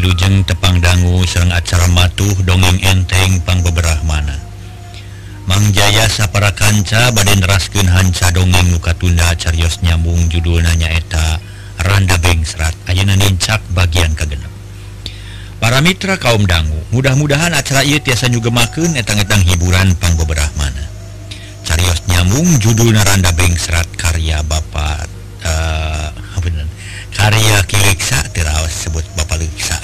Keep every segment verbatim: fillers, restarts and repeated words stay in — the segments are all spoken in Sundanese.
Wilujeng tepang dangu sareng acara matuh dongeng enteng pang beberah mana Mang Jaya sapara kanca bade neraskeun hanca dongeng nu katunda carios nyambung judulna nyaeta Randa Bengsrat ayeuna nincak bagian kagenep. Para mitra kaum dangu, mudah-mudahan acara ieu tiasa nyugemakeun etang-etang hiburan pang beberah mana. Carios nyambung judulna Randa Bengsrat karya Bapak uh, bener karya Kileksa terawas sebut Bapak Leksa.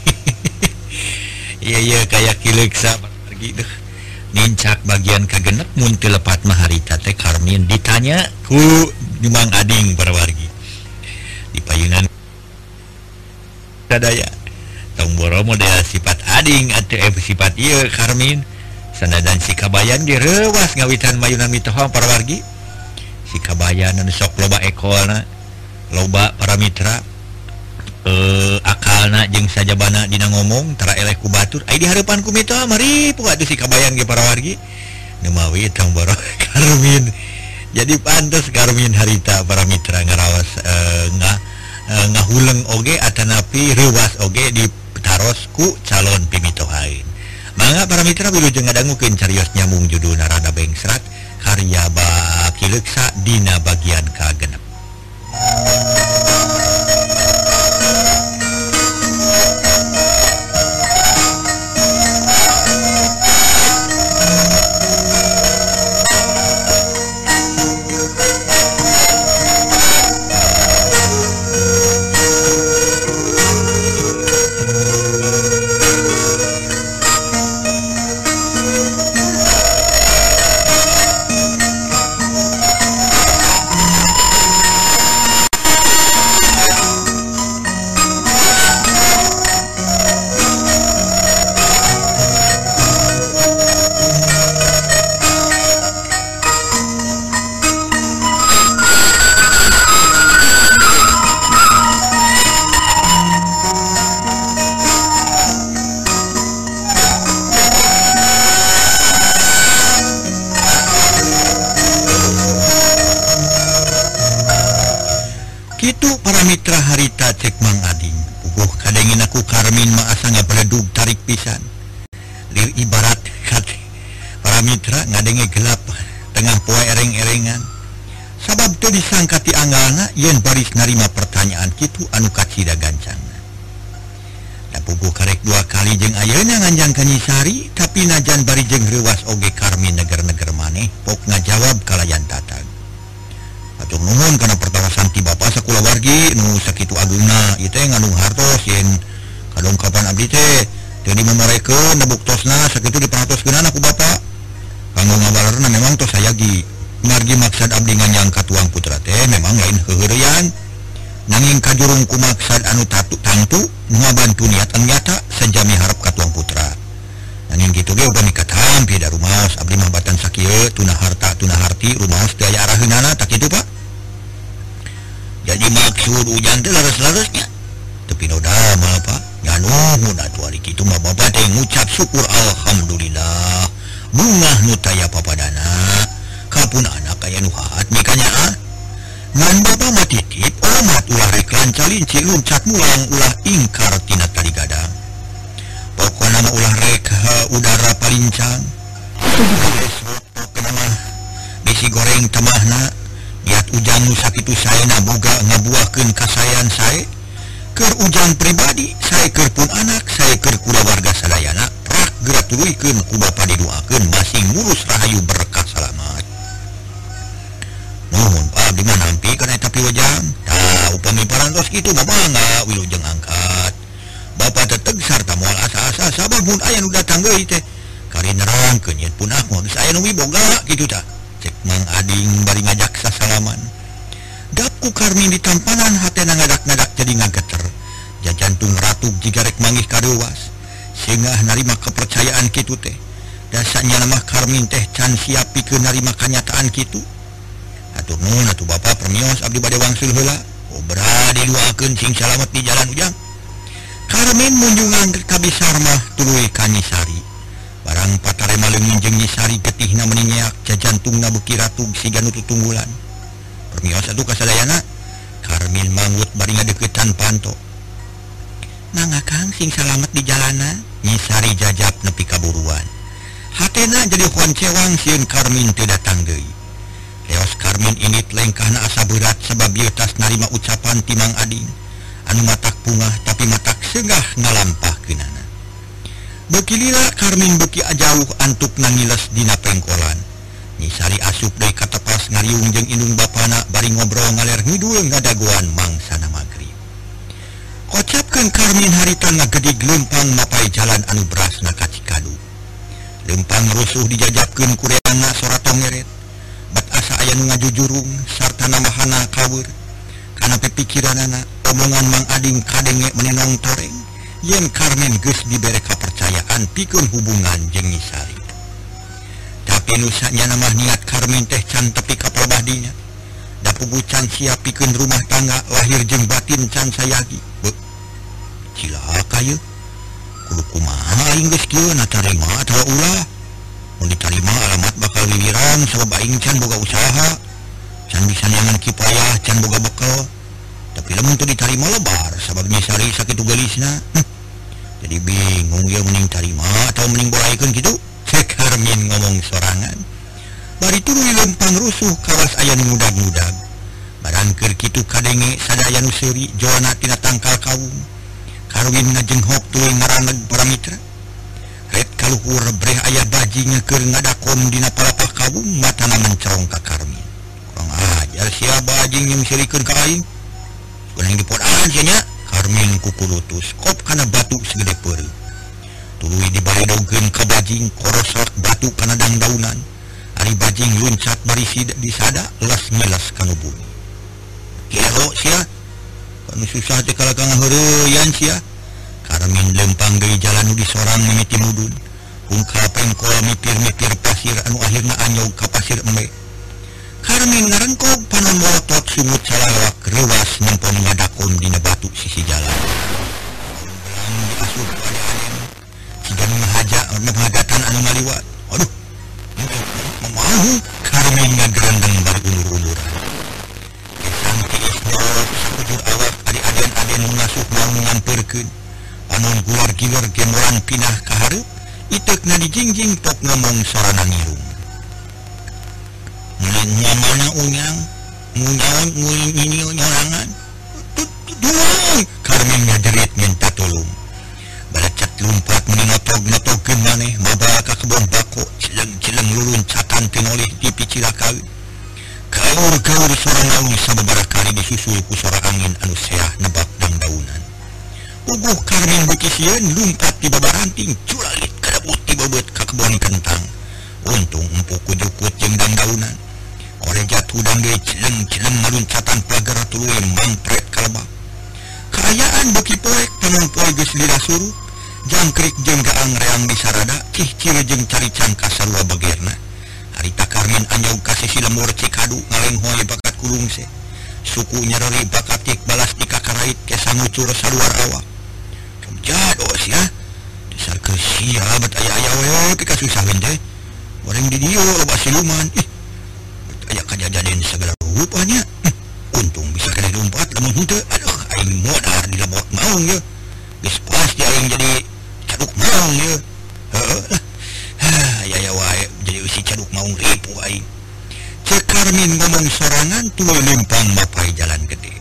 Iya iya kayak Kileksa pergi deh. Nincak bagian kagenep mun teu lepat mah harita teh Karmin ditanya ku Mang Ading para wargi. Di payunan sadaya tong boro model sifat Ading atau sifat ieu Karmin sanajan si kabayan ge reuwas ngawitan mayunan mitohong para wargi. Si kabayan anu sok loba ekolna loba para mitra eh akalna jeung sajabana dina ngomong tara eleh ku batur ai di hareupan ku mitoha mari puga si kabayan ge para wargi nu mawi tong boro Karmin. Jadi pantes Karmin harita para mitra ngaraos eh, ngah eh, ngahuleng oge atanapi reuwas oge ditaros ku calon pimitohain. Mangga para mitra wilujeng ngadangukeun carios nyambung judulna Randa Bengsrat karya Bapak Kileksa dina bagian kagenep. Kitu para mitra harita cek Mang Ading puguh kadengin aku Karmin mah asa ngabeledug tarik pisan lir ibarat kat para mitra ngadenge gelap tengah poe ereng-erengan sabab teu disangka ti anggalna yen baris narima pertanyaan kitu anu kacida gancangna da puguh karek dua kali jeung ayeuna nganjang ka Nyisari tapi najan bari jeung reuwas oge Karmin neger-neger maneh pok ngajawab kalayan tatag. Atur nuhun kana pertawasan ti Bapak sakula wargi nu sakitu agungna ieu teh ngandung hartos yen kadongkapan abdi teh teu dimemorekeun da buktosna sakitu diparatoskeunana ku Bapak. Kanggo ngabalarna memang tos sayagi margi maksad abdi nganyang ka tuang putra teh memang lain heureuyan nanging kajurung ku maksad anu tatu tangtu ngabantu niat anu nyata sajami harap ka tuang putra. Nanging kitu ge uga nikat hampi da rumaos abdi mah batan sakieu tuna harta tuna harti rumaos teu aya araheunana tak kitu Pak. Jadi maksud ujan teh laras-larasnya tapi no damel Pak nganuhun atuh ari kitu mah Bapak teh ngucap syukur alhamdulillah bungah nu taya papadana kapun anak aya nu haat mikanya ah ngan Bapak mah titip omat ulah rek lancalin luncat mulang ulah ingkar tina tali gadang pokona mah ulah rek uh, udara palincang pokona mah bisi goreng temahna niat ujang nu sakitu saena boga ngabuahkeun kasayan sae keur ujang pribadi sae keur pun anak sae keur kulawarga sadayana rak geura tuluykeun ku Bapa didoakeun masing mulus rahayu berkah salamet. Nuhun Pak abdi mah nampi kana eta piwajang tah upami parantos kitu mah mangga wilujeng angkat Bapak teteg sarta moal asa-asa sabab mun aya nu datang deui teh kari nerangkeun yen punah moal saya nu wiboga kitu tah cek Mang Ading bari ngajak sasalaman. Dapku Karmin ditampanan hatena ngadak-ngadak jadi ngageter jajantung ratug jiga rek manggih kadeuwas sehingga narima kepercayaan kitu teh dasanya mah Karmin teh can siap pikeun narima kanyataan kitu. Atur nuhun atuh Bapak permios abdi bade wangsul heula obra diluakeun sing salamet di jalan ujang. Karmin munjungan kabisar mah tuluy ka Nyisari barang patarema leungin jeung Nyisari getihna meninyak jajantungna beuki ratug siga nu tutunggulan. Permios atuh kasadayana Karmin mangut bari ngadeuketan panto Mangga Kang sing salamet di jalana, nyisari jajab nepi kaburuan. Hatena jadi huan cewang sieun Karmin teu datang deui. Leos Karmin init lengkahna asa berat sebab ieu tas narima ucapan ti Mang Ading anu matak pungah tapi matak segah ngalampahkeunana. Beuki lila Karmin beuki ajauh antuk nangiles dina pengkolan. Nyisari asup deui ka tepas ngariung jeung indung bapana bari ngobrol ngaler ngidul ngadaguan mangsana magrib. Kocapkeun Karmin harita ngagedig leumpang mapai jalan anu berasna ka Cikadu. Leumpang rusuh dijajabkeun ku reangna sora tongeret. Bat asa aya nu ngajujurung sarta namahana kaweur. Kana pikiranana omongan Mang Ading kadenge menenong toreng yen Karmin geus dibere kapercayaan pikeun hubungan jeung Nyisari. Tapi nu sanyana mah niat Karmin teh can tepi ka prabadinya. Da puguh can siap pikeun rumah tangga lahir jeung batin can sayagi. Beuh. Cilaka ieu. Kudu kumaha aing geus kieu natarima atawa ulah. Mun ditarima alamat bakal liliran sabab aing can boga usaha. Can bisa nyangan kipayah can boga bekal. Tapi lamun teu ditarima lebar sabab Nyisari sakitu gelisna. Hm. Jadi bingung ieu mending tarima atau mending boraikeun kitu. Cek Karmin ngomong sorangan. Bari tuluy leumpang rusuh kawas aya nu ngudag-ngudag. Barang keur kitu kadenge sadaya nu seuri joana tina tangkal kawung. Karwin ngajenghok tuluy ngaraneg para mitra. Red kaluhur breh aya bajing keur ngadakom dina palapah kawung matana mencerong ka Karmin. Kurang ajar sia bajing yang sirikeun ka aing. Kunaing dipodaan sia nya. Karmin kukulutus kop kana batu segede peureuh. Tuluy dibaledogkeun ka bajing korosok batu kana dangdaunan. Ari bajing luncat bari disada las ngelas kanu bumi. Kiro sia kanu susah teh kalaka ngaheureuyan sia. Karmin lempang deui jalan nu disorang mimiti mudun. Ungkal pengkol mipir-mipir pasir anu akhirna anyog ka pasir embe. Karmin ngarengkog panon molotot sumut salalawak reuwas nempon ngadakon dina batu sisi jalan. Belang diasup ku ade-aden. Siga nu ngahaja ngahadatan anu ngaliwat. Aduh. Mamahu Karmin ngagerendeng bari ulur-uluran. Gesang tiis nyorot sakujur awak ade-aden-aden nu ngasuh mau ngampeurkeun. Panon gular-gilar gemoran pinah ka hareup, iteukna dijingjing tok ngomong sorana ngirung. Nyamana unyang, munyaon nguling ini nyorangan. Duang! Karmin ngajerit minta tolong. Balacet lumpat menotog-notogkeun maneh mabal ka kebon bako cileng-cileng luluncatan pinolih di picilakaeu. Gaur-gaur sora naung sababaraha kali disusul ku sora angin anu seah nebak dangdaunan. Uguh Karmin beuki sieun lumpat di babaranting culalit kadabut ti bebeut ka kebon kentang. Untung empuk ku jukut jeung dangdaunan. Ore jatuh dan dia cileng-cileng maluncatan pagar tuluy mampret kalebak. Kaayaan beuki poek panon poe geus lila suruh. Jangkrik jeung gaang reang di sarada cih ciri jeung caricang ka sarua bagerna. Harita Karmin anyog ka sisi lemur Cikadu ngalenghoy bakat kulungse. Suku nyareri bakat tik balas ti kakarait kesa ngucur saluar awak. Jados ya. Dasar keusia bet aya-aya we pika susah teh. Goreng di dieu loba siluman. Ih. Aya kajadian segala rupanya. Hm, untung bisa kena lompat lamun henteu. Aduh, aing modar di labot maung ye. Geus pasti aing jadi caduk maung ye. Heeh lah. Ha, aya wae jadi usi caduk maung ripu aing. Cek Karmin ngomong sorangan tuluy lempang mapai jalan gede.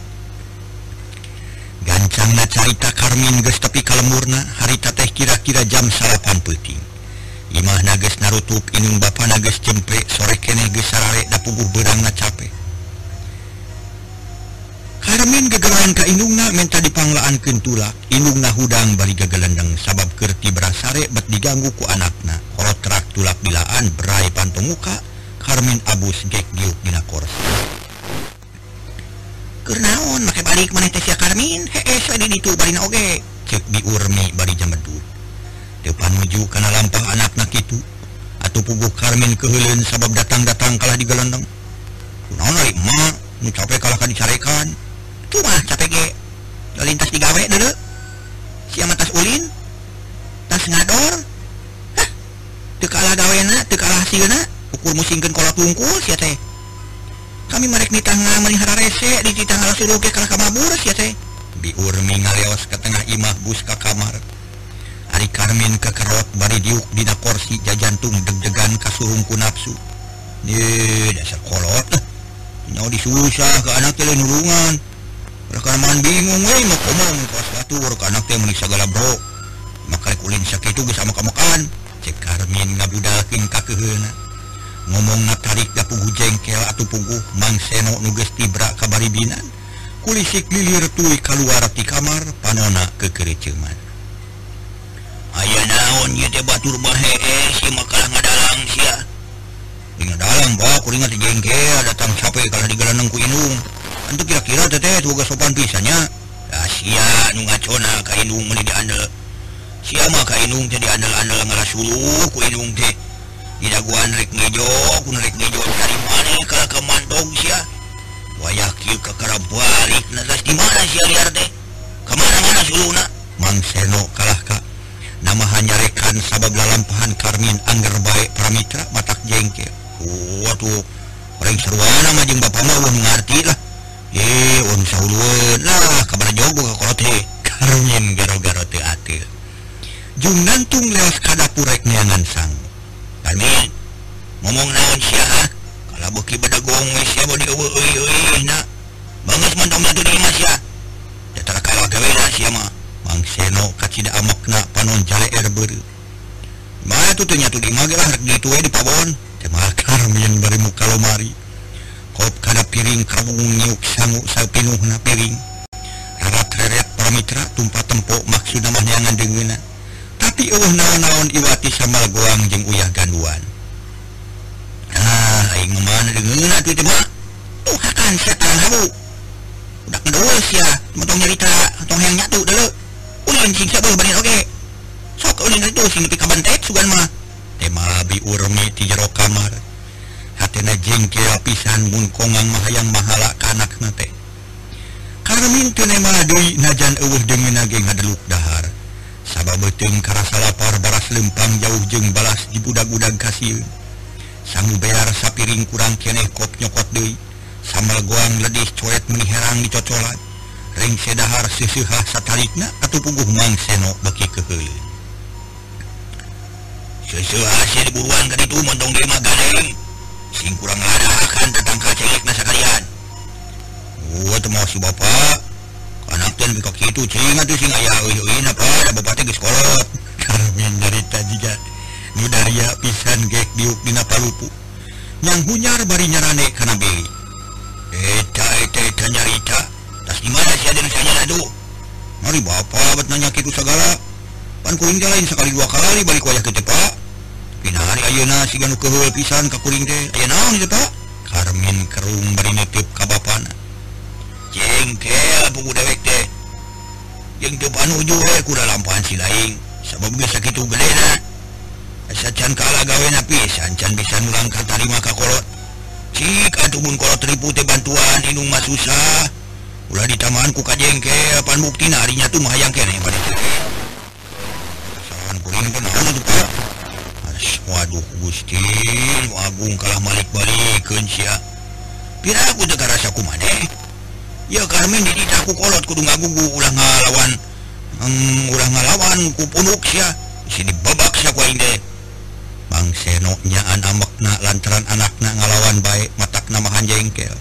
Gancangna carita Karmin geus tepi ka lemurna, harita teh kira-kira jam salapan peuting. Imahna geus narutup inung bapana geus cempe sore keneh geus sarare da puguh beurangna capek. Karmin gegelan ka indungna menta dipanglaankeun tulak. Indungna hudang bari gegelendeng sabab keur ti berasare bet diganggu ku anakna. Horotrak tulak dilaan berai pantong muka. Karmin abus gek giuk dina kursi. Keur naon make balik maneh teh sia Karmin? Hee sadi ditu barina oge. Cek di Urmi bari jamedut. Depan menuju kana lampah anakna kitu. Atuh puguh Karmin keheuleun sabab datang-datang kalah digelendeng. Kunaon ari emak nu capek kalah ka dicarekan. Tuh mah capek ge. Lalintas digawe deuleu. Sia mah tas ulin. Tas ngador. Hah. Teu kalah gawena, teu kalah hasilna. Ukur musingkeun kolak tungkul sia teh. Kami marek nitah ngameun hararese di titah ngasuruh ge kalah ka mabur sia teh. Biurmi ngaleos ke tengah imah bus ka kamar. Ari Karmin kekerot bari diuk dina kursi jajantung deg-degan kasurungku nafsu. Ye dasar kolot lah. Nyawa disusah ke anak teh nulungan. Rekaman bingung we mau komong kos batur ke anak teh meuni sagala bro. Maka kulin sakitu geus makan-makan. Cek Karmin ngabudakeun ka keuheuna. Ngomongna tarik da puguh jengkel atuh puguh Mang Seno nu geus tibra ka baribinan. Kulisik lilir tuluy kaluar ti kamar panona kekereuceuman. Aya naon ieu teh batur bae si makalah ngadalang sia. Ngadalang bae kuring teh jengkel datang capek kalah digelaneng ku indung. Antu kira-kira teh teh boga sopan pisannya. Da sia nu ngacona ka indung meuni diandel. Sia mah ka indung teh diandel-andel ngalasuluh ku indung teh. Didaguan rek ngejo ku rek ngejo dari mana kalah ka mantong sia. Wayah kieu kakara balik na das di mana sia liar teh? Ka mana-mana suluna? Mang Seno kalah ka nama hanyarekan sabab lalampahan Karmin angger bae pramitra matak jengkel. Waduh, orang seruana mah jeung bapa mah weuh ngarti lah. Ye, on saulueun lah kabar jogo ka kolot teh. Karmin garo-garo teu ateu. Jung nantung leos ka dapur rek neangan sang. Karmin, ngomong naon sia ha? Kala beuki badagong we sia bodi eueuh-eueuh na. Banges mantong atuh di imah sia. Da tara kalah gawean sia mah. Mang Seno kacida amakna panon jale er beureu. Mah atuh teu nyatu di imah ge lah rek ditu we di pabon. Teh mah Karmin bari muka lomari. Kop kana piring kabung nyiuk sangu sapinuhna piring. Rarat-reret pramitra tumpah tempo maksudna mah neangan deungeuna. Tapi eueuh naon-naon iwati sambal goang jeung uyah ganduan. Ah, aing mana deungeuna atuh teh mah. Tuh hakan setan habu. Udah ngedoos ya, motong nyarita, tong hayang nyatu deuleu. Ulin sing sabeuh banin oge. Sok ulin itu sing nepi ka bantet sugan mah. Teh mah biurmi ti jero kamar. Hatena jengkel pisan mun kongang mah hayang mahala ka anakna teh. Karmin teu nema deui najan eueuh deungeuna ge ngadeluk dahar. Sabab beuteung karasa lapar baras lempang jauh jeung balas di budag-budag kasieun. Sangu bear sapiring kurang keneh kop nyokot deui. Sambal goang ledis coet meuni herang dicocolan. Ring sedahar seuseuhah satarikna atuh puguh Mang Seno beki keheuleuh. Seuseuhah sia diburuan ka ditu montong dia mah gadeng. Sing kurang ladahakan tentang kacengekna sakalian. Oh teu mau si bapa. Anak teh nepi ka kitu cing atuh sing aya eueuh-eueuhna pa da bapa teh geus kolot. Karmin nyarita jiga nu daria pisan gek diuk dina palupu. Nyang hunyar bari nyarane kana beui. Eta eta eta nyarita. Tas di mana sia deuna sanyana tuh? Mari bapa bet nanya kitu sagala. Pan kuring teh lain sakali dua kali balik wayah kitu Pak. Pinari ayeuna siga nu keuheul pisan ka kuring teh. Aya naon ieu Pak? Karmin kerung bari neuteup ka bapana. Jengkel puguh dewek teh. Jeung teu panuju we kuda lampahan si laing. Sabab geus sakitu gedena. Asa can kalah gawena pisan can bisa nulang ka tarima ka kolot. Cik atuh mun kolot ripu teh bantuan indung mah susah. Ulah ditamaan ku ka jengkel pan buktina ari nya tuh mah hayang keneh bade teh. Kesalahan kuring teh naon atuh Pak? Waduh Gusti, nu agung kalah malik-balikeun sia. Piraku teu karasa kumaneh. Ya Karmin didita ku kolot kudu ngagugu ulah ngalawan. Hmm, ulah ngalawan ku punuk sia. Si dibabak sia ku aing teh. Mang Seno nyaan amakna lantaran anakna ngalawan bae matakna mahan jengkel.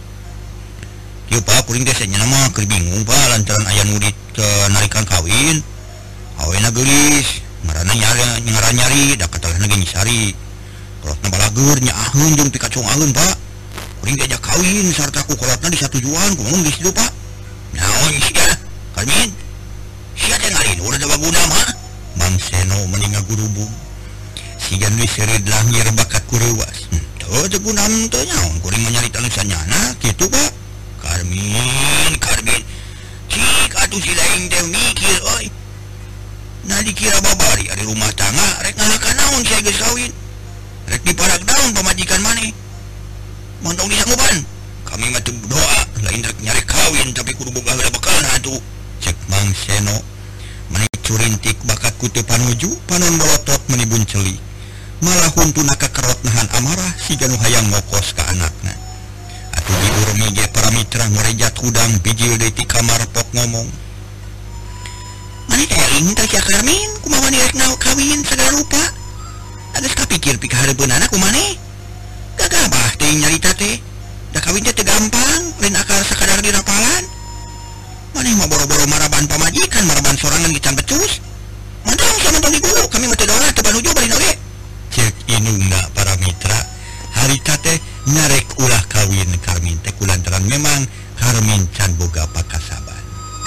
Kieu Pak kuring teh senyana mah keur bingung Pak lantaran aya nu narikan kawin. Awena geulis, ngaranna nyari ngaran nyari da katalana ge nyisari. Kolotna balageur nyaaheun jeung pikacungaheun Pak. Kuring diajak kawin sarta ku kolotna disatujuan kumaha geus ditu Pak. Naon sia? Karmin. Sia teh ngalin urang da baguna mah. Mang Seno meuni ngagurubung. Sigan we seureud langir bakat kureuwas. Teu teu gunam teu nyaon kuring mah nyarita nu sanyana kitu Pak. Karmin, Karmin. Cik atuh si lain teh mikir euy. Nah dikira babari ari rumah tangga rek ngalakan naon sia geus kawin. Rek diparak daun pamajikan maneh. Montong disanggupan. Kami mah teu doa lain rek nyari kawin tapi kudu boga heula bekalna atuh. Cek Mang Seno. Mani curintik bakat ku teu panuju panon bolotot meuni bunceli. Malah huntuna kakerot nahan amarah siga nu hayang ngokos ka anakna. Atuh diurmi ge para mitra merejat hudang bijil deui ti kamar pok ngomong. Maneh teh aing teh Cak Karmin kumaha direk kawin segala rupa. Geus kapikir pika hareupeunana kumaneh. Gagabah teuing nyarita teh. Da kawin teh teu gampang, lain akal sakadar dirapalan. Maneh mah boro-boro maraban pamajikan, maraban sorangan gican becus. Mandang sama tong guru, kami mah teu doa teu panuju bari oge. Cek inungna para mitra, harita teh nyarek ulah kawin Karmin teh kulantaran memang Karmin can boga pakasaban.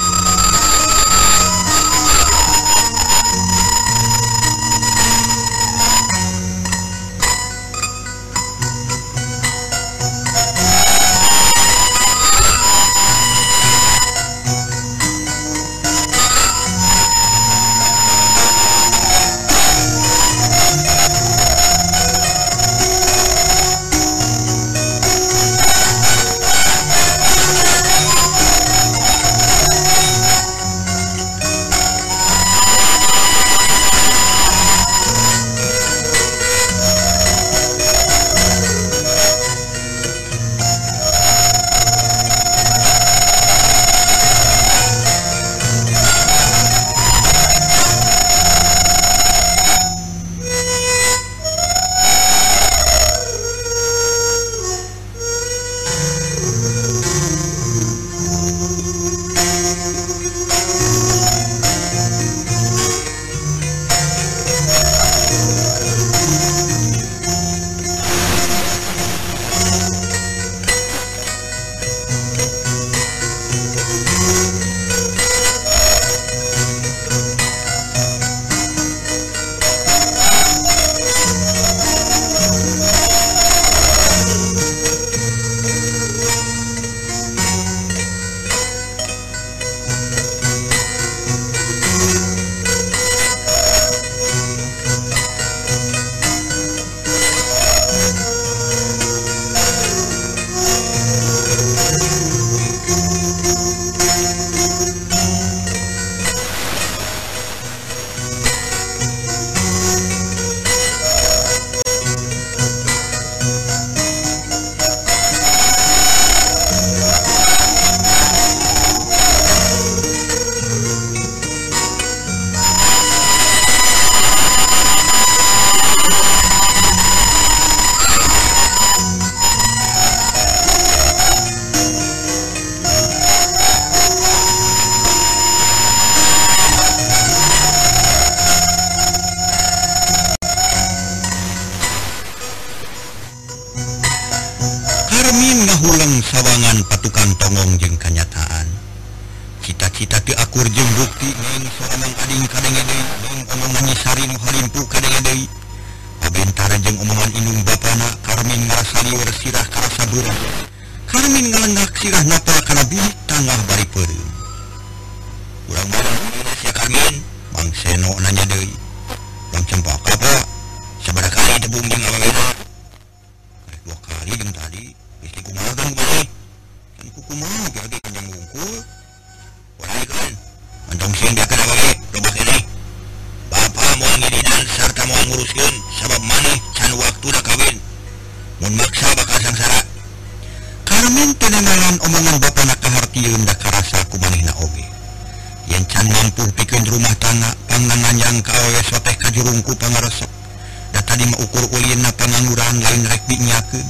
Sawangan patukan tongong jeung kanyataan. Cita-cita ti akur jeung bukti neng sorangan ading kadenge deui, neng omongan nyisari nu halimpu kadenge deui. Pabentara jeung omongan inung bapana, Karmin ngarasa lieur sirah karasa beurang. Karmin ngalengak sirah napal kana bilik tangah bari peureum. Urang bareng dina sia Karmin, Mang Seno nanya deui. Bang Cempaka apa? Sabaraha kali tebung jeung awewena? Rek dua kali jeung tadi. Istri kumaha kan kumaha? Kan kumaha ge kanjang ngungkul. Walai kan. Mantong sing dia kana bae, lobak ini. Bapa moal ngirinan sarta moal nguruskeun sabab maneh can waktuna kawin. Mun maksa bakal sangsara. Karmin teu nengalan omongan bapana kahartieun da karasa ku manehna oge. Yen can mampu pikeun rumah tangga panganganjang ka awewe soteh ka jurungku pangaresep. Da tadi mah ukur ulieunna pangangguran lain rek dinyakeun.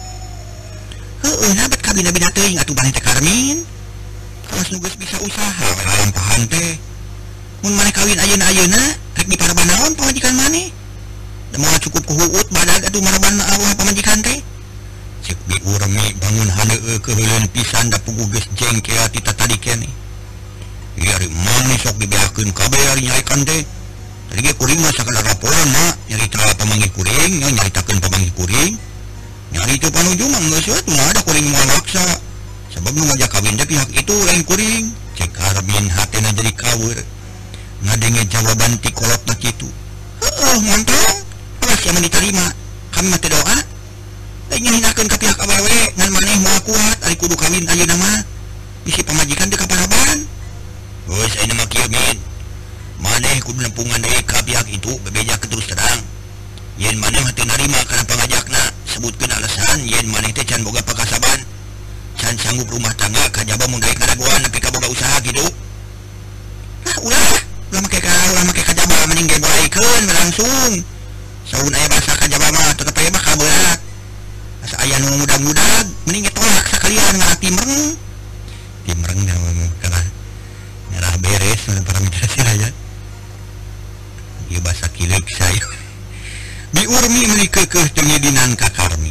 Heueuh na bet kabina-bina teuing atuh maneh teh Karmin. Kawas nu geus bisa usaha we lalampahan teh. Mun maneh kawin ayeuna-ayeuna rek diparaban naon pamajikan maneh? Da moal cukup ku huut badag atuh maraban Allah pamajikan teh. Cek bi urmi bangun haneueuh keheuleun pisan da puguh geus jengkel ti tadi keneh. Ieu ari maneh sok dibeakeun kabeh ari nyarekan teh. Tadi ge kuring mah sakadar laporan na nyarita pamanggih kuring, nya nyaritakeun pamanggih kuring. Nyari itu panuju mah geus we teu ada kuring moal maksa. Sabab nu ngajak kawin teh pihak itu lain kuring. Cek Karmin hatena jadi kaweur. Ngadenge jawaban ti kolotna kitu. Heueuh montong. Alas yang diterima. Kami mah teu doa. Lain nyahinakeun ka pihak awewe ngan maneh moal kuat ari kudu kawin ayeuna mah. Bisi pamajikan teu kaparaban. Geus ayeuna mah kieu min. Maneh kudu nempungan deui ka pihak itu bebeja terus terang. Yen maneh teu narima kana pangajakna, sebutkeun alasan yen maneh teh can boga pakasaban. pisan sanggup rumah tangga kajaba mun daek ngadagoan nepi ka boga usaha kitu. Ah ulah, ulah make ka ulah make kajaba mending ge boraikeun langsung. Saun aya basa kajaba mah tetep aya bakal berat. Asa aya nu mudag-mudag mending ge tolak sakalian ngarak timreng. Timreng kana nyerah beres para mitra siraya. Ieu basa kileuk saya. Bi urmi meuli keukeuh teu ngedinan ka Karmin.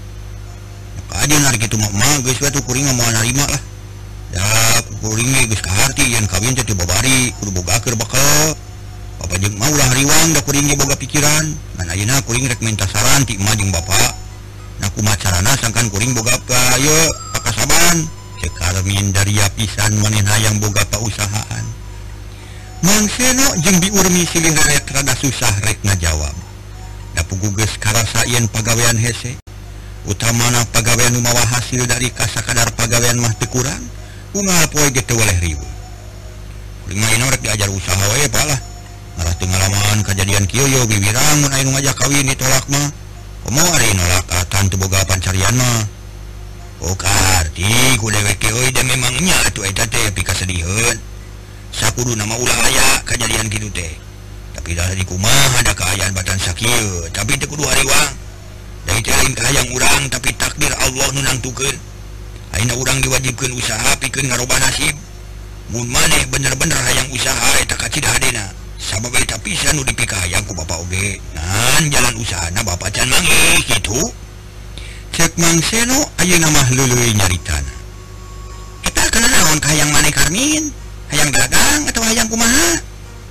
Aja narik itu mak mah geus we tuh kuring mah moal narima lah. Ya kuring ge geus kaharti yen kawin teh teu babari kudu bogakeun bakal. Bapa jeung mah ulah riwang da kuring ge boga pikiran. Ngan ayeuna kuring rek minta saran ti emak jeung bapa. Na kumaha carana sangkan kuring boga ka ieu pakasaban. Cek Karmin dari pisan manehna hayang boga pausahaan. Mang Seno jeung Bi Urmi silih rek rada susah rek ngajawab. Da puguh geus karasa yen pagawean hese. Utamana pagawean nu mawa hasil dari kasakadar pagawean mah teu kurang unggal poe ge teu weleh riweuh. Kuring mah ina rek diajar usaha we palah. Ngalah teu ngalaman kajadian kieu yo bibirang mun aya nu ngajak kawin ditolak mah. Komo ari nolak atan teu boga pancarian mah. Oh karti ku dewek euy da memang nya atuh eta teh pikasediheun. Sakuduna mah ulah aya kajadian kitu teh. Tapi dah di kumaha ada kaayaan batan sakieu, tapi teu kudu hariwang. Dari lain kahayang urang tapi takdir Allah nu nangtukeun. Ayeuna urang diwajibkeun usaha pikeun ngaroba nasib. Mun maneh bener-bener hayang usaha eta kacida hadena. Sabab eta pisan nu dipikahayang ku bapa oge. Ngan jalan usahana bapa can manggih kitu. Cek Mang Seno ayeuna mah leuleuy nyaritana. Eta kana naon kahayang maneh Karmin? Hayang dagang atawa hayang kumaha?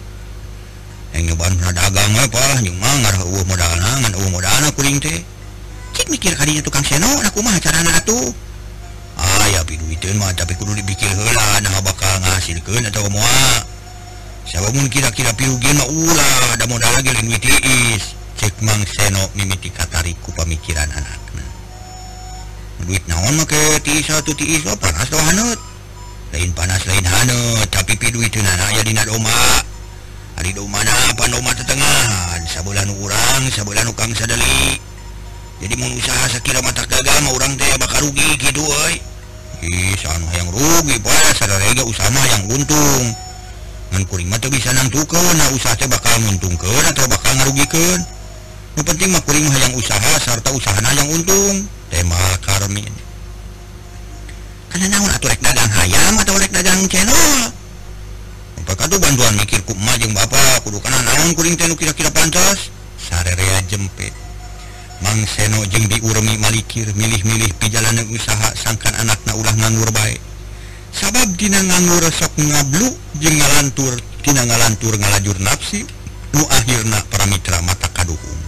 Yang nyobaan pernah dagang we palah jeung mah ngarah eueuh modalna ngan eueuh modalna kuring teh. Cik mikir kadinya tukang seno na kumaha carana atuh. Aya piduiteun mah tapi kudu dipikir heula nah bakal ngahasilkeun atawa moal. Sabab mun kira-kira pirugian mah ulah da modalna ge leuwih tiis. Cek Mang Seno mimiti katarik ku pamikiran anakna. Duit naon mah ke tiis atuh tiis oh, panas doh haneut. Lain panas lain haneut tapi piduiteunna aya dina doma. Ari domana pandoma tetengahan sabulan urang sabulan ukang sadeli. Jadi mun usaha sakira mata gagal mah urang teh bakal rugi kitu euy. Ih sanu hayang rugi poe sadarega usaha mah yang untung. Ngan kuring mah teu bisa nangtukeun na usaha teh bakal nguntungkeun atau bakal ngarugikeun. Nu penting mah kuring hayang usaha sarta usahana yang untung. Tema Karmin. Kana naon atuh rek dagang hayam atau rek dagang channel? Pakatu bantuan mikir ku emak jeung bapa kudu kana naon kuring teh nu kira-kira pantas. Sarerea jempet. Mang Seno jeung Bi Urmi malikir milih-milih pijalanan usaha sangkan anakna ulah nganggur bae. Sabab dina nganggur sok ngablu jeung ngalantur tina ngalantur ngalajur nafsi nu akhirna para mitra mata kaduhung.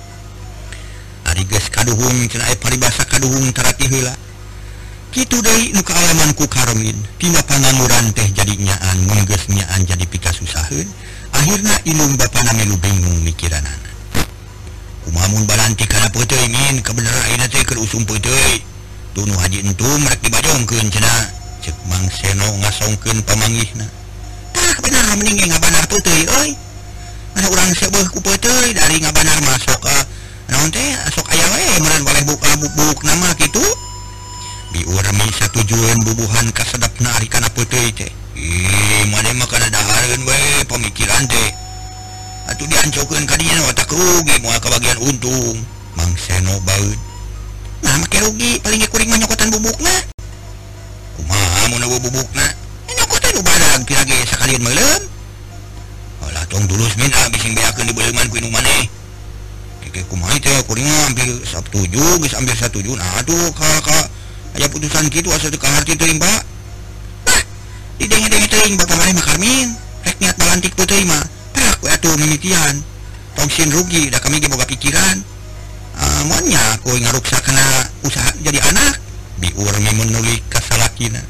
Ari geus kaduhung cenah aya paribasa kaduhung tarati heula. Kitu deui nu kaalaman ku Karmin tina pangangguran teh jadi nyaan mun geus nyaan jadi pikasusaheun akhirna ilung bapana melu bingung mikiranana. Kumaha mun balanti kana peuteuy min kabeneran ayeuna teh keur usum peuteuy tu nu haji entum rek dibajongkeun cenah. Cek Mang Seno ngasongkeun pamanggihna. Tah bener mending ngabanar peuteuy euy. Mana urang sebeuh ku peuteuy dari ngabanar masuk ka naon teh sok aya we meureun waleh buka bubuk nama kitu. Bi Urmi satujueun bubuhan kasedapna ari kana peuteuy teh. Ih, maneh mah kana dahareun we pamikiran teh. Atuh diancokeun ka dinya watak rugi moal kabagian untung. Mang Seno baeud. Nah, make rugi paling ge kuring mah nyokotan bubukna. Kumaha mun eueuh bubukna? Nyokotan nu badag pira ge sakalian meulem. Alah tong tulus min ah bising beakeun di beuleuman ku inu maneh. Keke kumaha teh kuring mah hampir satuju geus hampir satuju. Nah, atuh ka ka aya putusan kitu asa teu kaharti teuing Pak. Tah, didenge-denge teuing bapa maneh mah Karmin, rek niat balantik peuteuy mah. Tah, we atuh mimitian. Tong sin rugi da kami ge boga pikiran. Ah, moal nya kowe ngaruksa kana usaha jadi anak. Bi Urmi menulik ka salakina.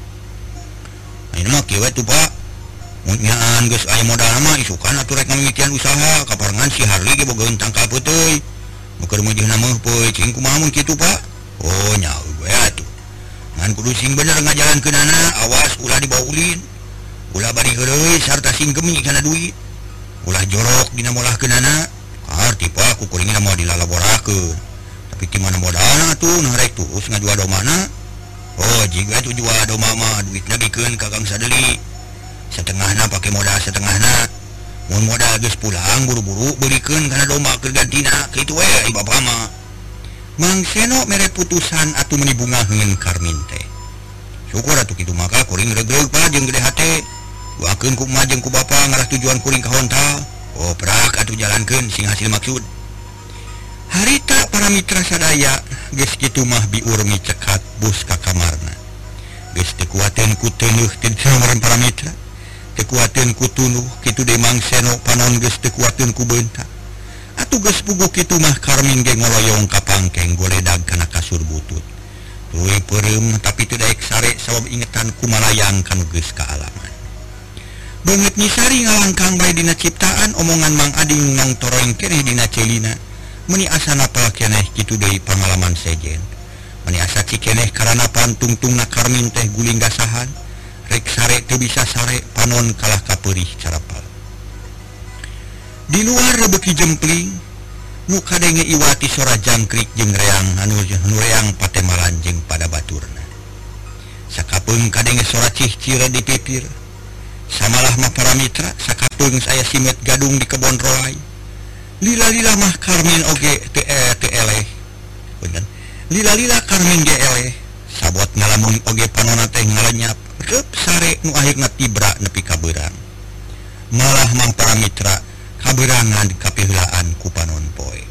Ayeuna mah kieu we tuh Pak. Mun nyaan geus aya modal mah isukan atuh rek ngamimitian usaha kaparengan si Harli ge boga tangkal peuteuy. Meukeun meujeuhna meuh poe cing kumaha mun kitu Pak? Oh nya we atuh. Ngan kudu sing bener ngajalankeunana awas ulah dibawa ulin. Ulah bari heureuy sarta sing gemi kana duit. Ulah jorok dina molahkeunana. Kaharti Pak ku kuringna moal dilalaborakeun. Tapi ti mana modalna atuh nah rek terus ngajual domana. Oh jika itu jual do mama duit nagikeun kakang sadeli setengahna pakai modal setengahna mun modal geus pulang buru-buru beurekeun kana domba keur gantina kitu we ai bapa mah. Mang Seno mere putusan atuh meuni bunga heun Karmin teh. Syukur atuh kitu maka kuring regreg pa jeung gede hate. Duakeun ku emak jeung ku bapa ngarah tujuan kuring ka Hontal. Oh prak atuh jalankeun sing hasil maksud. Harita para mitra sadaya geus kitu mah biur micekat bus ka kamarna. Geus teu kuateun ku teunuh teu samaren para mitra. Teu kuateun ku tunuh kitu deui Mang Seno panon geus teu kuateun ku beuntak. Atuh geus puguh kitu mah Karmin ge ngoloyong ka pangkeng goledag kana kasur butut. Tuluy peureum tapi teu daek sare sabab ingetan ku malayang kanu geus kaalaman. Beungeut nyisari ngalangkang bae dina ciptaan omongan Mang Ading nong toreng keneh dina celina. Meni asa napal keneh kitu deui pangalaman sejen. Meni asa cikeneh karana pantungtungna Karmin teh guling gasahan. Rek sare teu bisa sare panon kalah kapeurih carapal. Di luar rebeki jempling nu kadenge iwati sora jangkrik jeung reang anu nu reang patemalan jeung pada baturna. Sakapeung kadenge sora cih-cira di pipir. Samalah mah para mitra sakapeung saya simet gadung di kebon roai. Lila-lila mah Karmin oge teu teu eleh. Bener. Lila-lila Karmin ge eleh. Sabot ngalamun oge panonna teh ngalenyap reup sare nu akhirna tibra nepi ka beurang. Malah mah para mitra kaberangan kapiheulaan ku panon poe.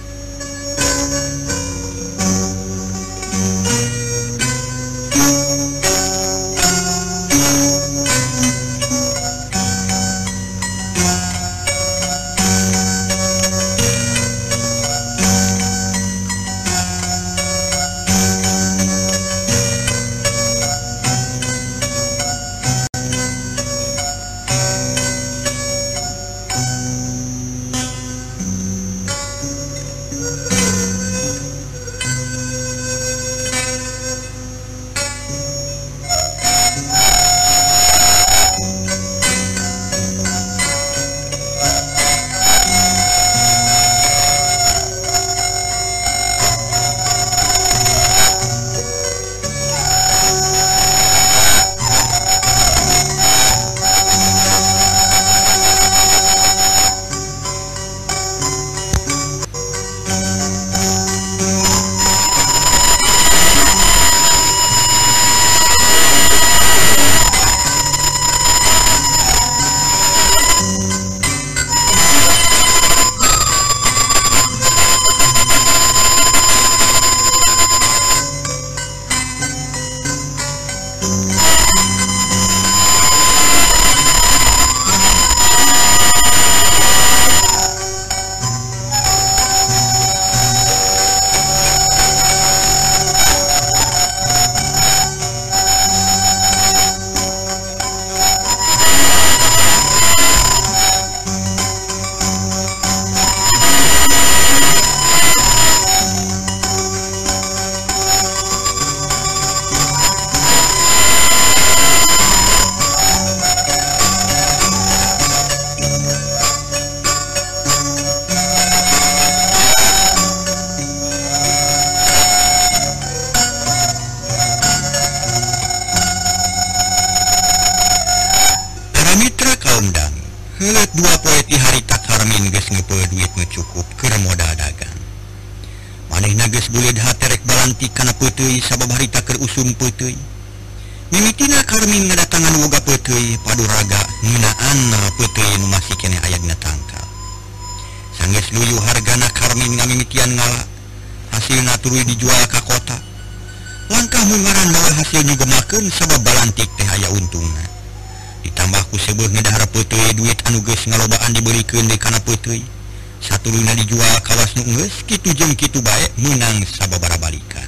Helet dua poe ti harita Karmin geus ngeupeul duit nu cukup keur modal dagang. Manehna geus buleud hate rek balantik kana peuteuy sabab harita keur usum peuteuy. Mimitina Karmin ngadatangan woga peuteuy paduraga ngeunaan peuteuy nu masih keneh aya dina tangkal. Sanggeus luyu hargana Karmin ngamimitian ngala, hasilna tuluy dijual ka kota. Langkah mungaran bae hasil nyugemakeun sabab balantik teh aya untungna. Ditambah ku seubeung ngedahar peuteuy duit anu geus ngalobaan dibeurekeun deui kana peuteuy. Satuluna dijual kawas nu geus kitu jeung kitu bae meunang sababaraha balikan.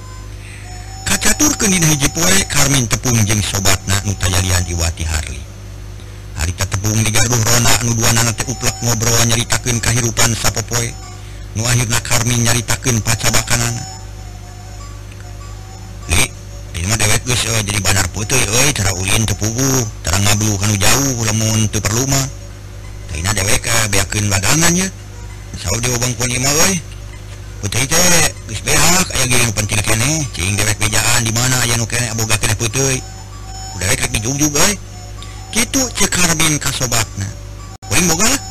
Kacaturkeun dina hiji poe Karmin tepung jeung sobatna nu tayalian iwati Harli. Harita tepung digaduh Rona anu duanana teh uplek ngobrol nyaritakeun kahirupan sapopoe. Nu akhirna Karmin nyaritakeun pacabakanana. Li, ieu mah dewek geus uh, jadi banar peuteuy euy cara ulin teu puguh, tara ngablu kanu jauh lamun teu perlu mah. Taina dewek uh, beakeun bagangan nya. Saur di obang pun ieu mah euy. putih teh geus behak aya ge penting keneh cing dewek bejaan di mana aya nu keneh aboga keneh puteuy udah rek dijugjug euy kitu ceuk Karmin ka sobatna kuring boga lah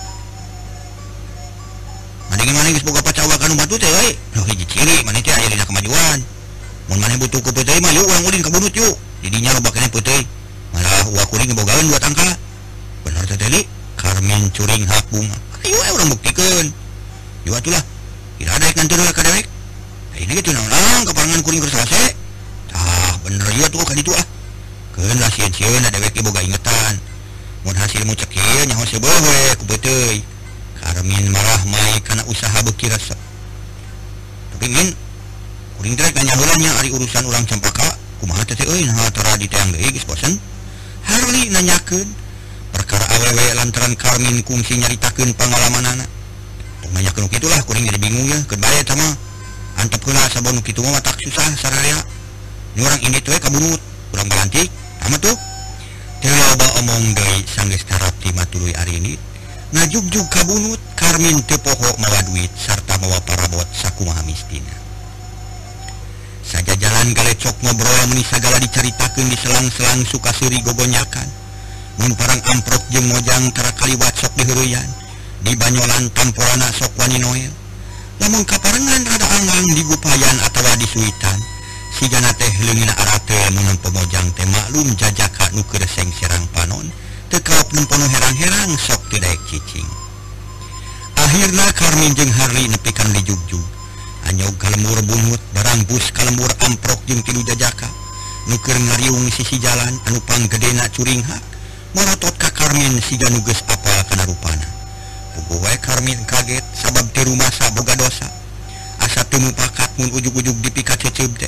maneh maneh geus boga pacawa ka nu batu teh euy nu hiji ciri maneh teh aya dina kemajuan mun maneh butuh ku puteuy mah yuk urang ulin ka bunut yuk di dinya loba keneh puteuy malah uak kuring bogaeun dua tangka bener teh teh Karmin curing hak bunga ayo urang buktikeun yuk atuh lah tidak ada yang ngantur ka dewek ini gitu naon kaparangan kuring geus selesai tah bener ieu tuh kan itu ah keun lah sieun-sieun dewek ge boga ingetan mun hasil mu cek ieu nyaho seubeuh we ku beuteui Karmin marah mai kana usaha beuki resep tapi min kuring teh nanya heula nya ari urusan urang cempaka kumaha teh euy nah tara diteang deui geus bosen Harli nanyakeun perkara awewe lantaran Karmin kungsi nyaritakeun pangalamanana nanyakeun kitu lah kuring jadi bingung ya keun bae eta mah antep heula sabon kitu mah tak susah sararea nu urang indit we kabunut urang balantik amat tuh teu loba omong deui sanggeus tarap ti matuluy ari ini ngajugjug kabunut Karmin teu poho mawa duit sarta mawa parabot sakumaha mistina saja jalan galecok ngobrol meni sagala dicaritakeun di selang-selang suka-seuri gogonyakan mun parang amprok jeung mojang tara kaliwat sok diheureyan di banyolan tamporana sok wani noel lamun kaparengan rada anggang di gupayan atawa di suitan sigana teh leungina arate mun pemojang teh maklum jajaka nu keur sengserang panon teu kaop nempono herang-herang sok teu daek cicing akhirna Karmin jeung Harli nepikan di jugjug anyog kalembur bungut barang bus kalembur amprok jeung tilu jajaka nu keur ngariung sisi jalan anu panggedena curing hak morotot ka Karmin siga nu geus apal kana rupana puguh wae Karmin kaget sabab teu rumasa boga dosa asa teu mupakat mun ujug-ujug dipikat ceuceub teh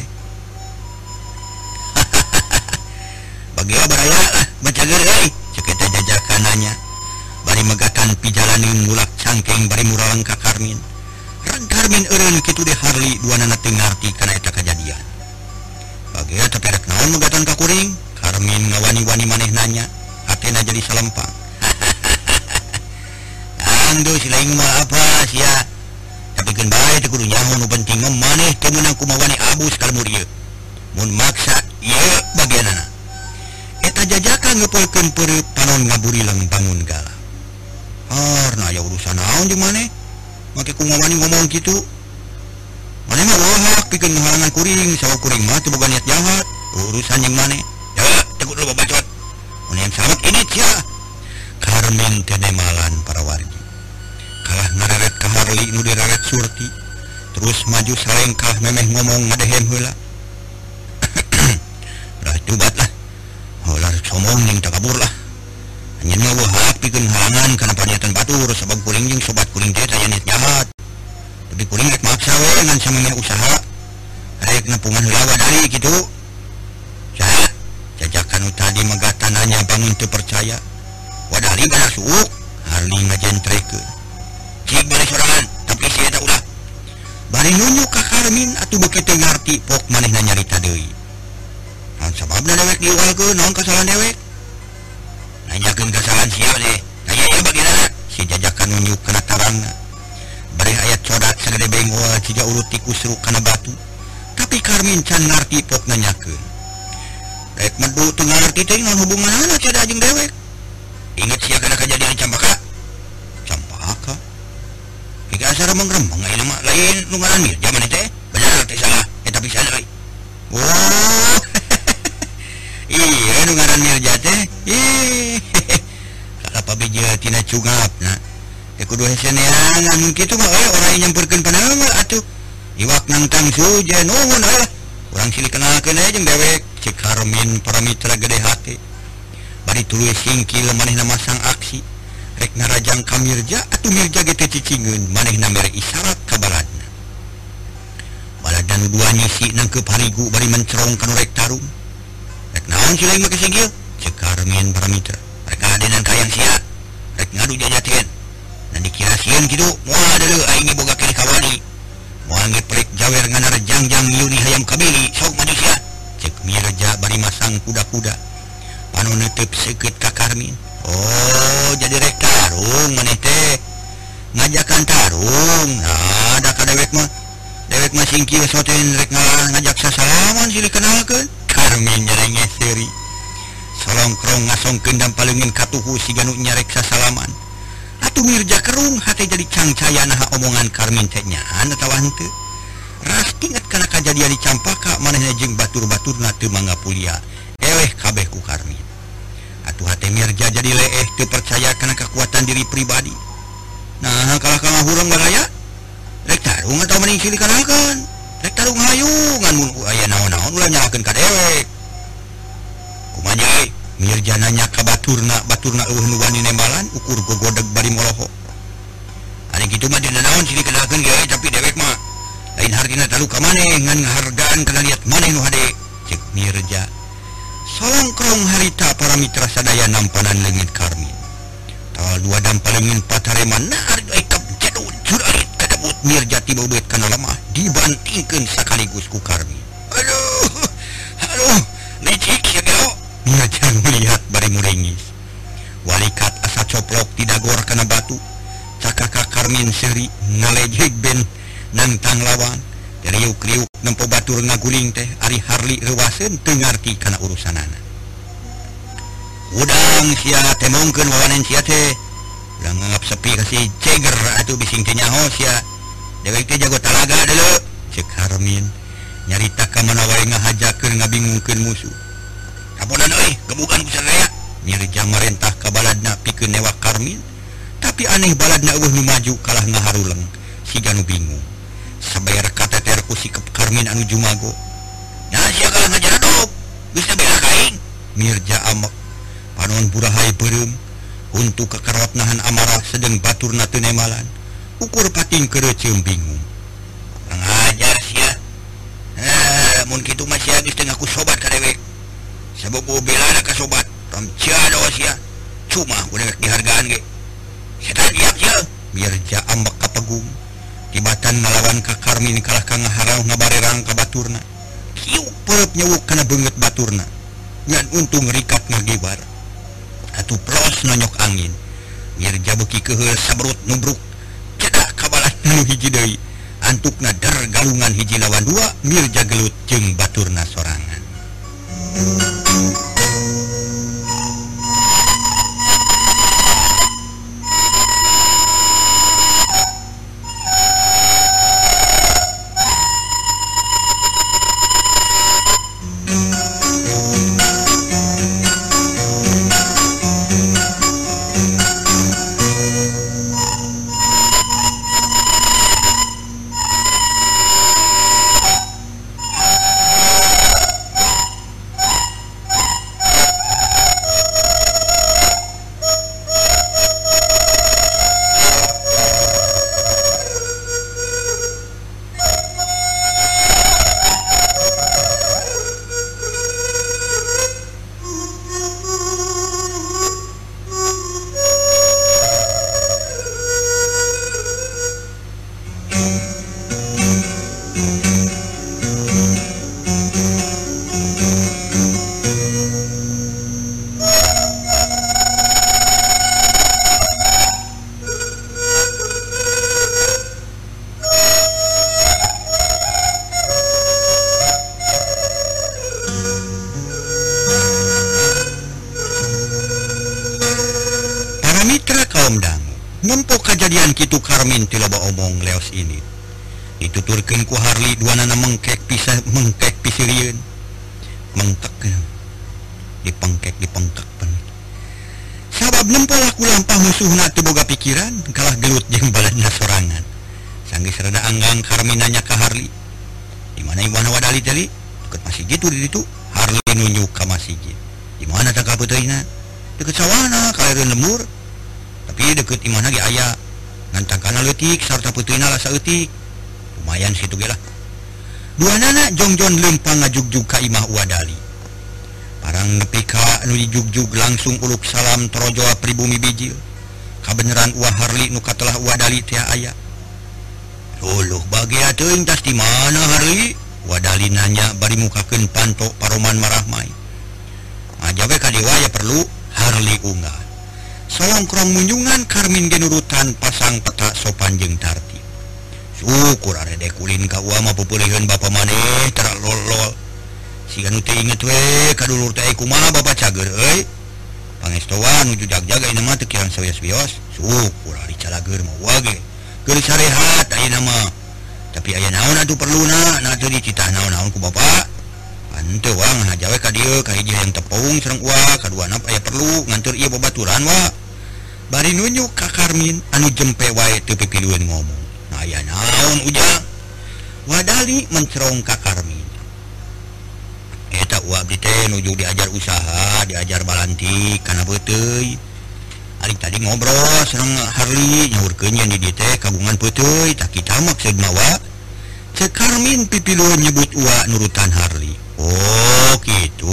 bagea baraya lah bacageur euy ceuk eta jajaka nanya bari megatan pijalaneun ngulak cangkeng bari muraleng ka Karmin rang Karmin eureun kitu deh Harli duanana teu ngarti kana eta kajadian bagea tapi rek naon megatan ka kuring Karmin ngawani-wani maneh nanya hatena jadi salempang Ando si lain mah apa sia tapi keun bae teu kudu nyaho nu penting mah maneh teu meunang kumaha wani abus kalmur ieu mun maksa ieu bagianana eta jajaka ngeupeulkeun peureup panon ngaburileng bangun gala harna aya urusan naon jeung maneh make kumaha wani ngomong kitu maneh mah wahak pikeun ngahalangan kuring sawa kuring mah teu boga niat jahat urusan jeung maneh ya teu kudu babacot mun yang samet ini cia Karmin teh nemalan para wargi kalah ngareret ka Harli nu direret surti terus maju salengkah memeh ngomong ngadehem heula dah tubat lah heular somong ning takabur lah anjeun mah wahak pikeun halangan kana paniatan batur sabab kuring jeung sobat kuring teh aya niat jahat tapi kuring rek maksa we ngan samemeh usaha rek nempungan heula wadari kitu saha jajakan nu tadi megatananya bangun teu percaya wadari benar suuk Harli ngajentrekeun cik bari sorangan tapi si eta ulah bari nunjuk ka Karmin atuh beuki teu ngarti pok manehna nyarita deui naon sababna dewek diugalkeun naon kasalahan dewek nanyakeun kasalahan sia teh aya ieu bageuna si jajaka nunjuk kana tarangna bari aya codat sagede bengol ciga urut ti kusruk kana batu tapi Karmin can ngarti pok nanyakeun rek medu teu ngarti teh naon hubunganna cada jeung dewek inget sia kana kajadian campaka campaka jika asal remeng-remeng ayeuna mah lain nu ngaran Mirja maneh teh bener teh salah eta pisan euy oh iya nu ngaran Mirja teh ih salah pabeja tina cungapna teh kudu hese neangan mun kitu mah euy urang nyamperkeun panaeul atuh iwak nangtang suja nuhun lah urang silih kenalkeun aya jeung dewek cik Karmin para mitra gede hate bari tuluy singkil manehna masang aksi rek narajang ka Mirja atuh Mirja ge teh cicingeun manehna mere isyarat ka baladna baladan dua nyisi nangkeup harigu bari mencerong kana rek tarung rek naon si lain make singgil ceuk Karmin para mitra rek adenan kayang sia rek ngadu jajaten dan dikira sieun kitu moal deuleu aing boga keneh kawani moal ngeprek jawer nganar jangjang yuni hayam kabili sok maju sia ceuk Mirja bari masang kuda-kuda panon neuteub seukeut ka Karmin oh jadi rek tarung maneh teh ngajakan tarung nah da kadewek mah singkir soten rek ngajak sasalaman silih kenalkeun. Karmin nyerenge seri. Solongkrong ngasongkeun dan palengin katuhu si ganu nyarek sasalaman. Atuh Mirja kerung hate jadi cangcaya naha omongan Karmin teh nyaan atawa henteu. Ras inget kana kajadian di Campaka manehna jeung batur-baturna teu mangga pulia. Eleh kabeh ku Karmin. Atuh hate Mirja jadi leeh teu percaya kana kekuatan diri pribadi. Nah, kalah kalah hurang baraya. Rek tarung atau mending silih kenalkeun. Rek tarung hayu ngan mun aya naon-naon ulah nyalakeun ka dewek. Kumaha euy? Mirja nanya ka baturna, baturna eueuh nu wani nembalan ukur gogodeg bari moloho. Ari kitu mah dina naon silih kenalkeun ge tapi dewek mah lain hartina talu ka maneh ngan ngahargaan kana liat maneh nu hade. Cek Mirja. Solongkrong harita para mitra sadaya nampanan leungit Karmin. Tawal dua dampalengin patareman nahar aikap jadul juralit kadabut Mirja tiba ubeut kana lemah dibantingkeun sakaligus ku Karmin. Aduh, aduh, licik ya gelo. Mirja melihat bari muringis. Walikat asa coplok didagor kana batu. Cakaka Karmin seri ngalejeg ben nantang lawan. Riuk-riuk nempo batur ngaguling teh ari Harli reuwaseun teu ngarti kana urusanana. Udang sia temongkeun wawanen sia teh udah nganggap sepi kasih ceger atuh bising teh nyaho sia dewek teh jago talaga deuleu cek Karmin nyarita ka mana wae ngahajakeun ngabingungkeun musuh. Kaponan euy gebugan ku sadaya Mirja marentah ka baladna pikeun newak Karmin tapi aneh baladna eueuh nu maju kalah ngaharuleng siga nu bingung sabayar kateter ku sikep Karmin anu jumago. Nya sia kalah ngajaradog geus bela kaing Mirja amek panon burahay beureum untuk kekerot nahan amarah sedeng baturna teu nemalan ukur pating kereuceum bingung. Kurang ajar sia. Heh mun kitu mah sia geus teu ngaku sobat ka dewek. Sabogo belana ka sobat tam ciado sia. Cuma ku dewek dihargaan ge. Setan diam sia. Mirja ambek kapegung. Tibatan ngalawan ka Karmin kalah ka ngaharau ngabarerang ka baturna. Kieu perep nyewuk kana beungeut baturna. Ngan untung rikat ngagibar. Atuh pros nonyok angin. Mirja beuki keheul sabrut nubruk cedak kabalan nu hiji deui. Antukna der galungan hiji lawan dua Mirja gelut jeung baturna sorangan. Nempo kejadian kitu Karmin ti loba omong leos ini. Dituturkeun ku Harli duanana mengkek pisah mengkek pisirieun. Mengkek dipengkek dipengkek pen. Sabab nempo laku lampah musuhna teu boga pikiran, kalah gelut jeung baladna sorangan. Sanggis rada anggang Karmin nanya ka Harli. Di mana ibana wadali tadi? Deket masjid itu di ditu. Harli nunjuk ka masjid. Di mana tak kapeuteuna? Deket sawana kalereun lembur. Tapi deket imana ge aya ngantangkana leutik sarta peuteuna lasa eutik. Lumayan situ ge lah. Duanana jongjon leumpang ngajugjug ka imah wadali. Parang nepi ka anu dijugjug langsung uluk salam torojo pribumi bijil. Kabeneran uah Harli nu katelah wadali teh aya. Luluh bagia teuing tas di mana Harli? Wadali nanya bari mukakeun panto paroman marahmai. Ngajabe ka dewa ya perlu Harli unggah. Solongkrong munjungan Karmin genurutan pasang peta sopan jeung tartib. syukur are dek kulin ka ua mah peupeuleuheun bapa maneh tara lol-lol siga nu teu inget we kadulur teh kumaha bapa cager euy pangestoan nuju jag-jaga ieu mah teu kirang sawios-wios syukur ari calageur mah ua ge keur sarehat ayeuna mah tapi aya naon atuh perluna na teu dicitah naon-naon ku bapa henteu wa ngahaja we ka dieu ka hiji yang tepung sareng ua kaduana aya perlu ngantur ieu babaturan wa bari nunjuk ka Karmin anu jempe wae teu pipilueun ngomong nah aya naon ujang wadali mencerong ka Karmin eta ua abdi teh nuju diajar usaha diajar balantik kana beuteuy ari tadi ngobrol sareng Harli nyaurkeun yen di dieu teh kagungan beuteuy tak kita maksudna wa cek Karmin pipilueun nyebut ua nurutan Harli oh gitu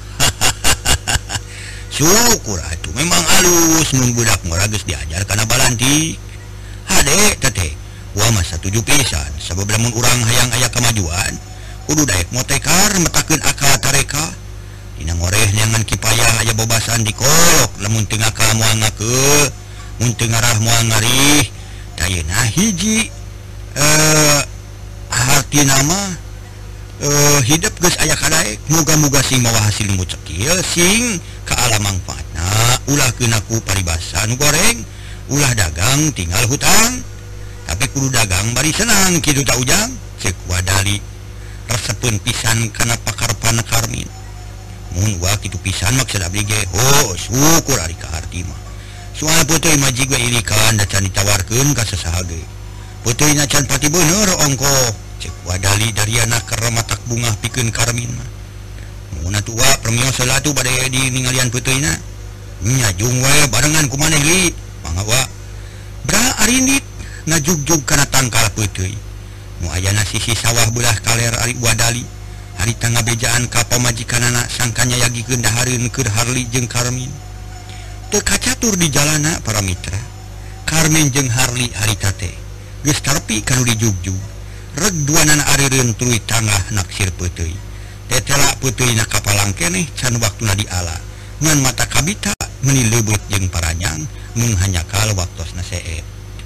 syukur atuh memang alus mun budak murah geus diajar kana balantik hade teteh ua mah satuju pisan sabab lamun urang hayang aya kemajuan kudu daek motekar metakeun akal tareka dina ngoreh neangan kipayah aya bobasan dikolok lamun teu ngakal moal ngakeu mun teu ngarah moal ngarih tayeuna hiji eh hartina mah Uh, hidup geus aya kadaek muga-muga sing mawa hasil mucekil sing ka alam manfaatna ulah keunaku paribasa nu goreng ulah dagang tinggal hutang tapi kudu dagang bari senang kitu tak ujang ceuk wadali resepeun pisan kana pakarpan Karmin mun wa kitu pisan maksud abdi ge oh syukur ari ka arti mah soal peuteui majig we ilikan da can ditawarkeun ka sasaha ge peuteui na can pati beuneur ongko cek wadali dariana keur matak bunga pikeun Karmin mah mun atuh wa permios heula atuh bade di ningalian peuteuyna nya jung we barengan ku maneh li mangga wa bra arindit ngajugjug kana tangkal peuteui nu ayana sisi sawah belah kaler ari wadali hari tangga bejaan ka pamajikanana sangkanya yagikeun dahareun keur Harli jeung Karmin teu kacatur di jalana para mitra Karmin jeung Harli harita teh geus tarpi kanu dijugjug reg duanan arireun tuluy tangah naksir peuteui tetela peuteuyna kapalang keneh can waktuna diala ngan mata kabita meuni leubeut jeung paranyang mun hanyakal waktosna seueur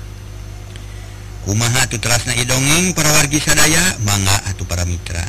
kumaha atuh terasna ieu dongeng para wargi sadaya mangga atuh para mitra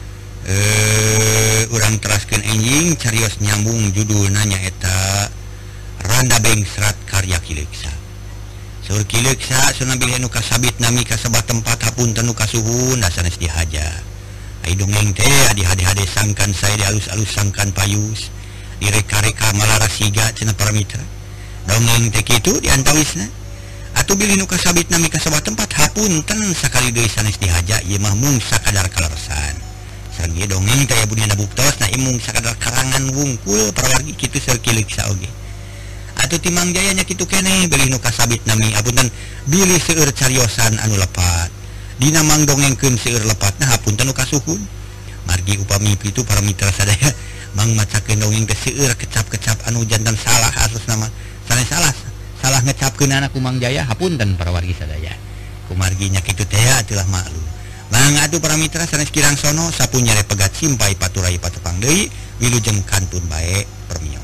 eh urang teraskeun enjing carios nyambung judulna nyaeta Randa Bengsrat karya Kileksa Saur Kileksa sunabil nu kasabit nami kasebat tempat hapunten nu kasuhun da sanes dihaja. Ai dongeng teh adi hade-hade sangkan saya dialus-alus sangkan payus. Direka-reka malarasiga cenah para mitra. Dongeng teh kitu diantawisna. Atuh bilih nu kasabit nami kasebat tempat hapunten sakali deui sanes dihaja ieu mah mung sakadar kalersan. Sareng ieu dongeng teh budina buktos na imung sakadar karangan wungkul para wargi kitu Saur Kileksa oge. Atuh timang jayanya kitu keneh bilih nu kasabit nami hapunten bilih seueur cariosan anu lepat dina mangdongengkeun seueur lepatna hapunten nu kasuhun margi upami kitu para mitra sadaya mang macakeun dongeng teh seueur kecap-kecap anu janten salah atus nama sanes salah salah ngecapkeun anak kumang jaya hapunten para wargi sadaya kumargi nya kitu teh atuh maklum mang atuh para mitra sanes kirang sono sapunya pegat simpai paturai patepang deui wilujeng kantun bae permi